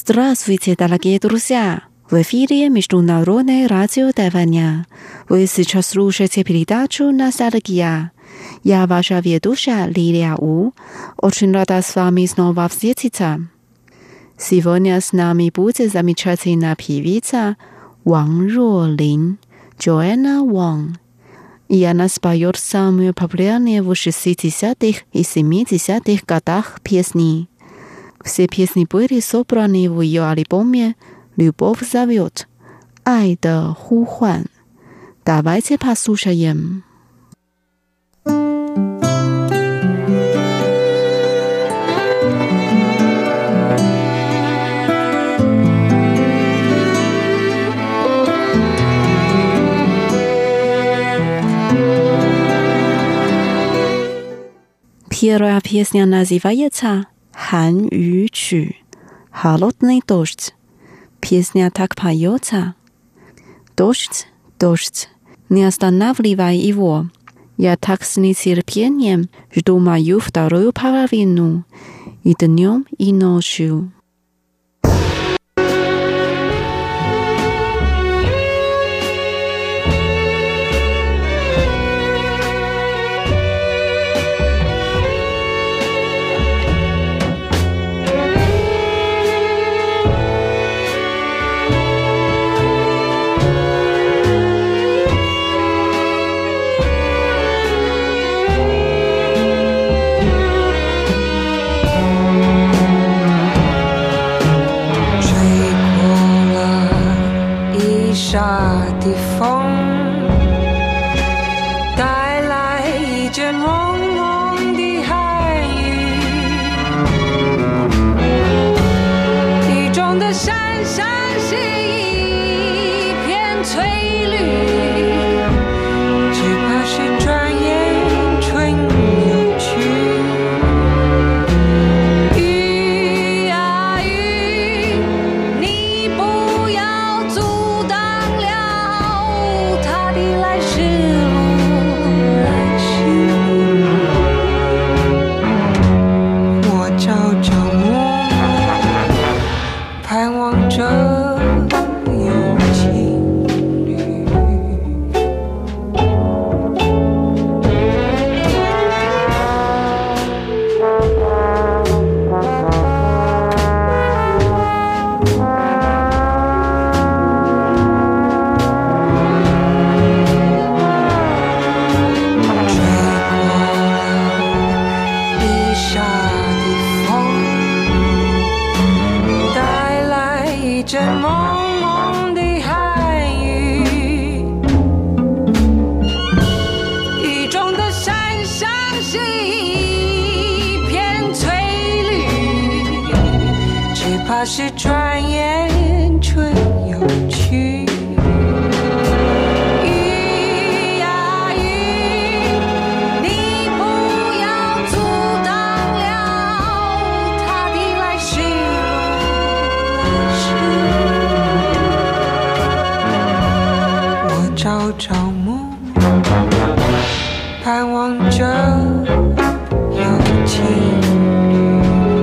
Здравствуйте, дорогие друзья! В эфире Международное радио Тайваня. Вы сейчас слушаете передачу «Ностальгия». Я ваша ведущая Лилия У. Очень рада с вами снова встретиться. Сегодня с нами будет замечательная певица Ван Ролин, Joanna Wang. И она споет самые популярные в 60-х и 70-х годах песни. Все песни были собраны в ее альбоме «Любовь зовет. 爱的呼唤». Давайте послушаем. Первая песня называется «Хан Ю Чу» «Холодный дождь». Песня так поется: «Дождь, дождь, не останавливай его. Я так с нетерпением жду мою вторую половину и днем, и ночью». 的风带来一阵蒙蒙的寒雨，雨中的山上是一片翠绿，只怕是转眼春又去。雨啊雨，你不要阻挡他的来时路，来时路。我朝朝暮暮，盼望着有情侣。阵蒙蒙的寒雨，雨中的山上是一片翠绿，只怕是转眼春又去。雨啊雨，你不要阻挡了他的来时路。朝朝暮暮，盼望着有情侣。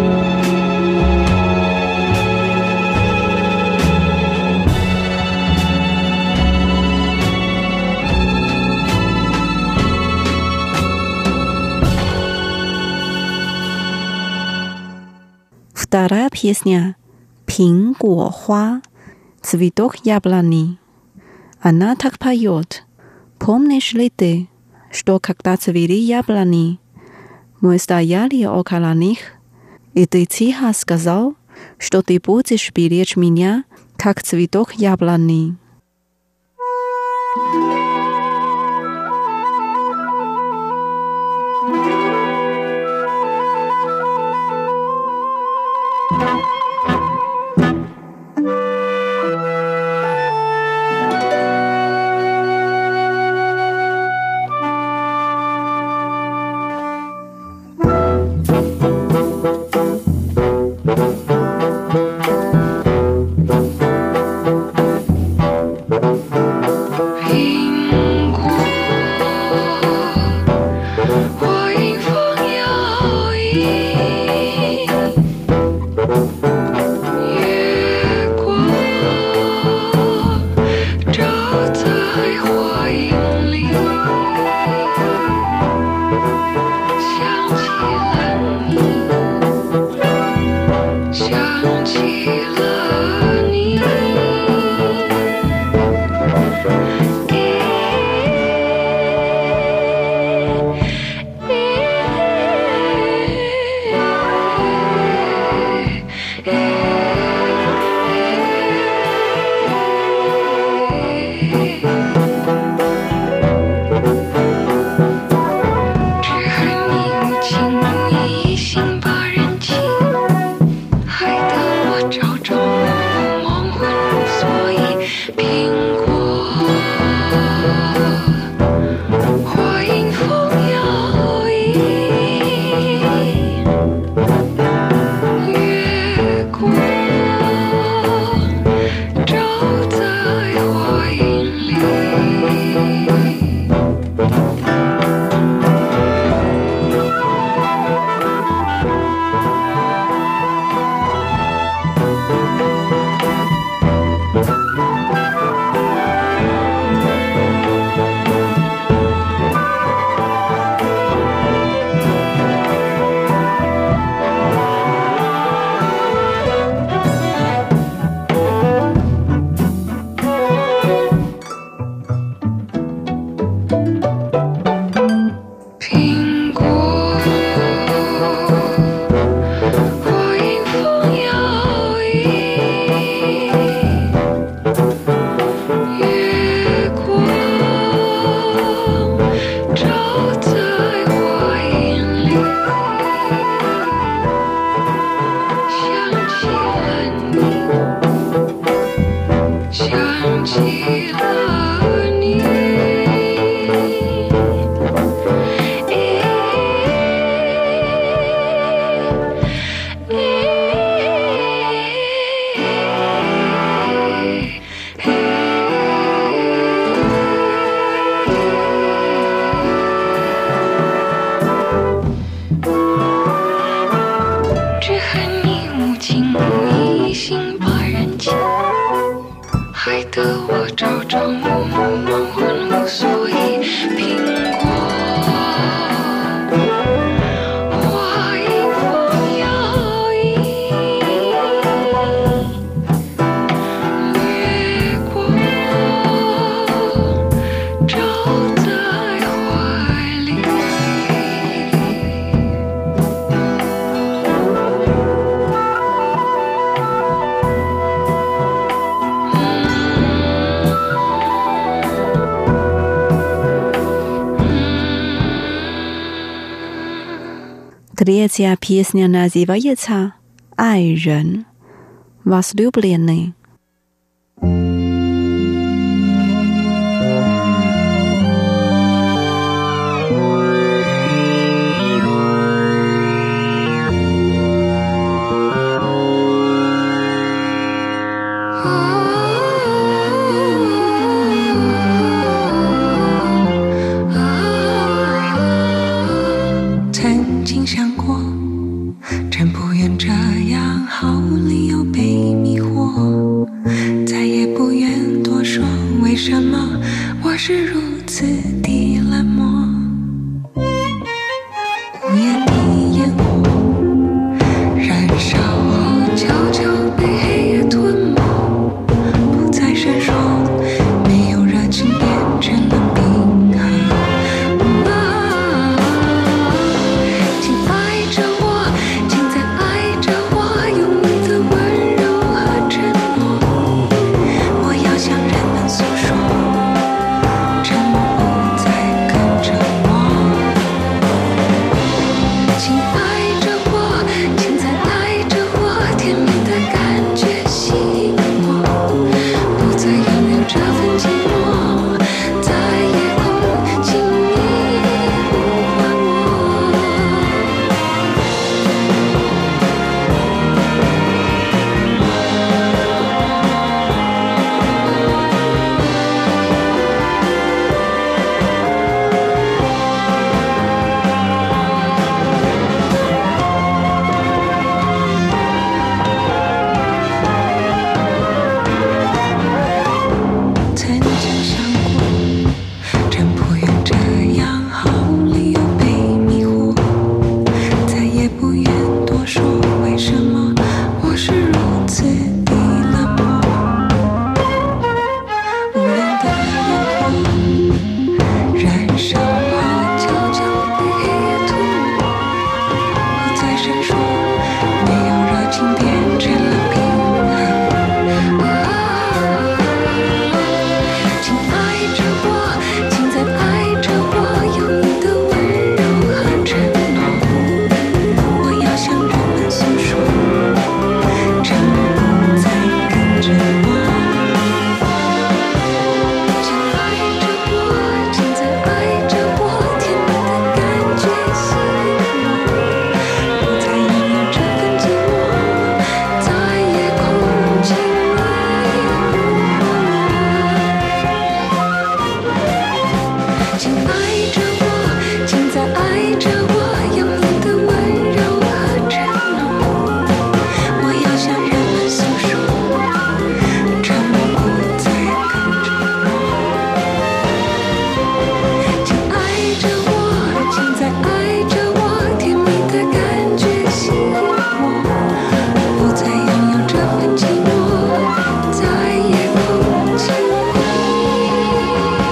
Вторая песня «Пинь Гуо Хуа» «Цветок яблони». Она так поет: «Помнишь ли ты, что когда цвели яблони, мы стояли около них, и ты тихо сказал, что ты будешь беречь меня, как цветок яблони». Hey Третья песня называется «Ай, рен», «Возлюбленный». 曾经想过，真不愿这样毫无理由被迷惑，再也不愿多说为什么我是如此的冷漠。无言的烟火燃烧后，悄悄被黑夜吞没，不再闪烁，没有热情变成了冰河。请爱着我，请再爱着我，用你的温柔和承诺。我要向人们诉说，沉默不再更折磨。请爱着我，请再爱着我，甜蜜的感觉吸引我，不再拥有这份寂寞，在夜空轻易呼唤我。曾经想过，真不愿这样毫无理由被迷惑，再也不愿多说为什么我是如此的冷漠。无亮的烟火燃烧后，悄悄被黑夜吞没，不再闪烁，没有热情变成了冰河。请爱着我，请再爱着我，用你的温柔和承诺。我要向人们诉说，沉默不再更折磨。请爱着我，请再爱着我，甜蜜的感觉吸引我，不再拥有这份寂寞，在夜空轻易呼唤我。请爱着我，请再爱着我，用你的温柔和承诺。我要向人们诉说，沉默不再更折磨。请爱着我，请再爱着我，甜蜜的感觉吸引我，不再拥有这份寂寞，在夜空轻易。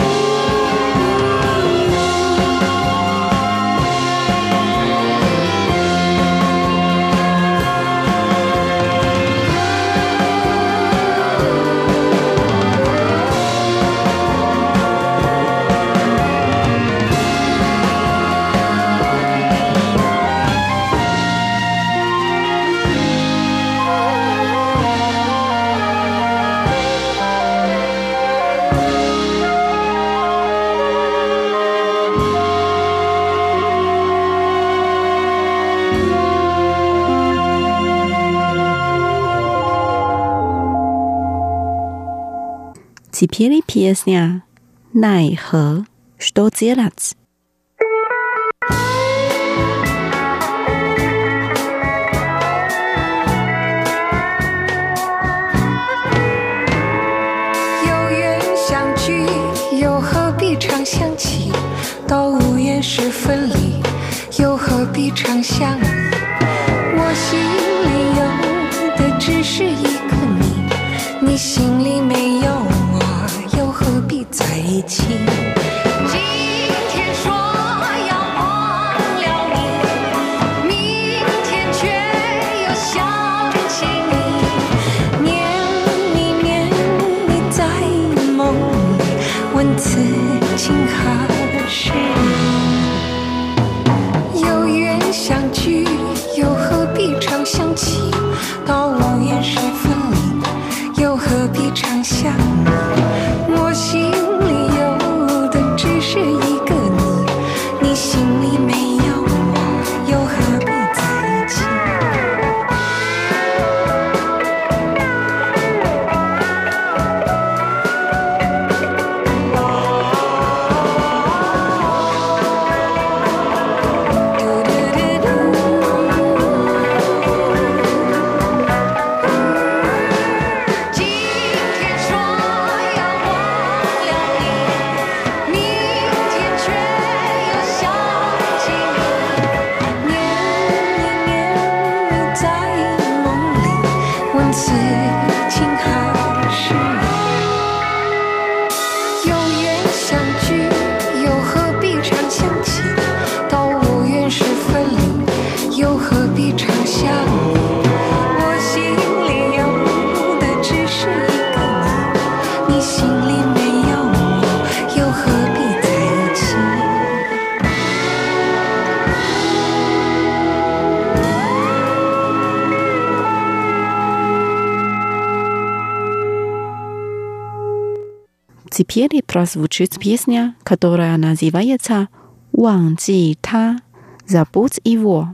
Теперь песня «奈何» «Что делать?» 有缘相聚，又何必常想起？都无言是分离，又何必常想你？我心里有的只是一个你，你心里没有我，又何必在一起？今天说要忘了你，明天却又想起你，念你在梦里，问此情何时？有缘相起，到无言时分离，又何必常想你？我心里有的只是一个你，你心里没有我，又何必在一起？此情还是有缘相聚，又何必常想起？到无缘时分离，又何必常想你？我心里有的只是一个你，你心里没有我，又何必在一起？ Теперь прозвучит песня, которая называется «Ваньжи та», «Забудь его».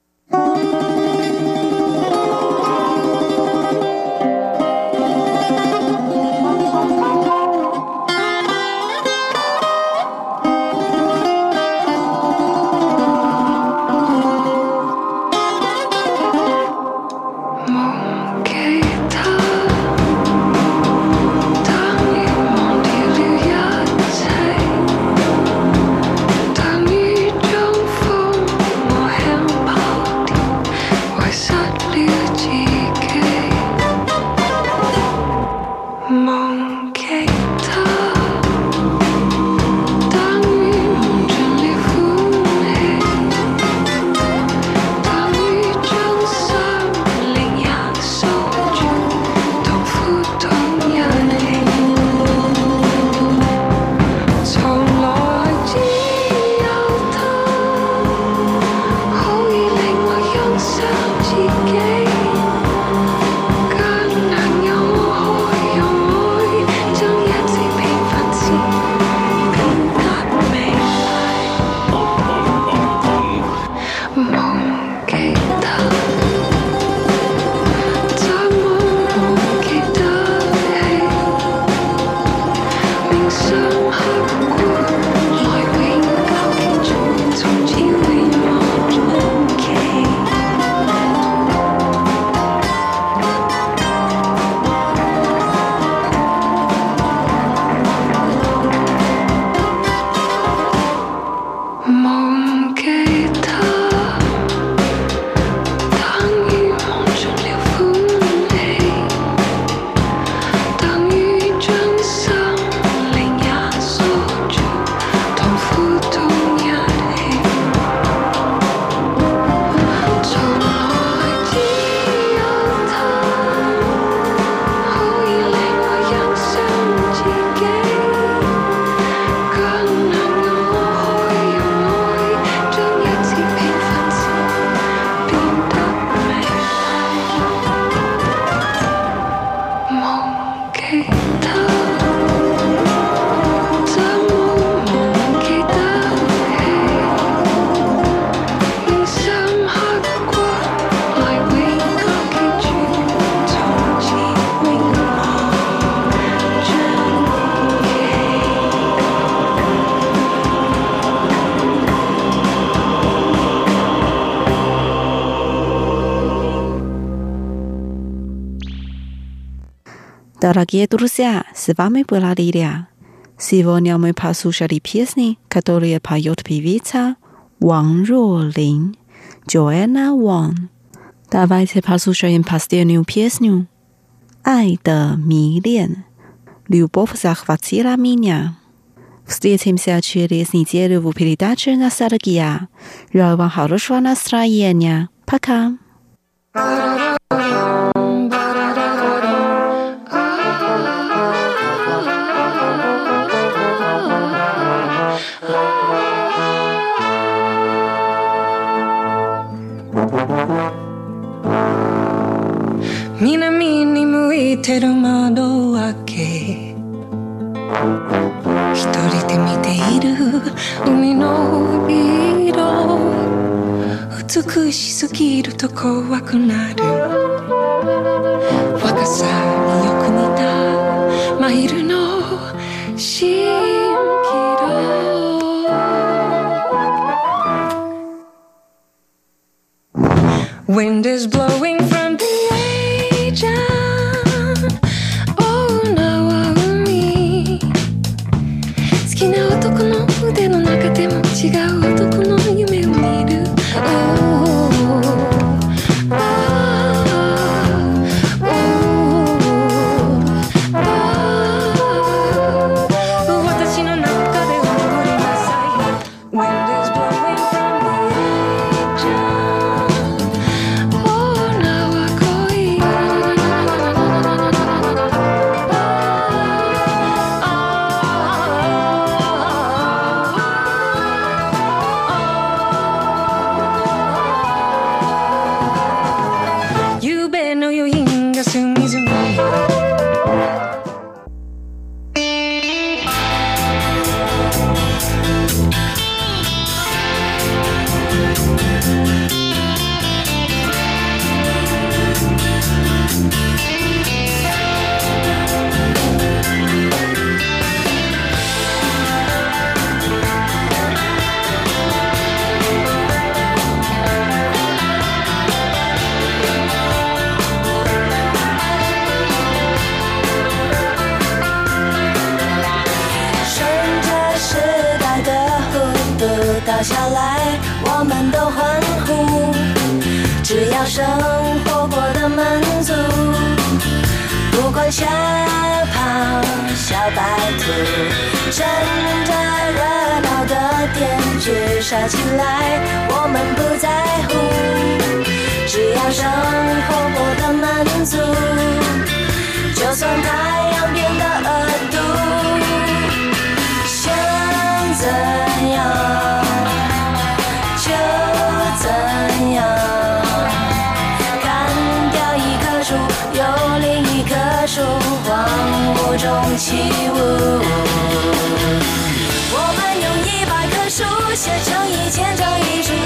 Дорогие друзья, с вами была Лилия. Сегодня мы послушали песни, которые поет певица Ван Ролин, Joanna Wang. Давайте послушаем последнюю песню. «爱的迷恋», «Любовь захватила меня». Встретимся через неделю в передаче «Ностальгия». Желаю вам хорошего настроения. Пока! てる窓を開け一人で見ている海の色美しすぎると怖くなる若さによく似た真昼の蜃気楼Wind is blowing from the agent Oh now海好きな男の腕の中でも違う男の夢を見る私の中で踊りなさい Wind is blowing from the agent Oh now恋夕べの余韻が隅々倒下来我们都欢呼只要生活过得满足不管吓跑小白兔趁着热闹的电锯杀起来我们不在乎只要生活过得满足就算太阳变得恶毒想怎样就怎样砍掉一棵树有另一棵树荒芜中起舞我们用100棵树写成1000张遗书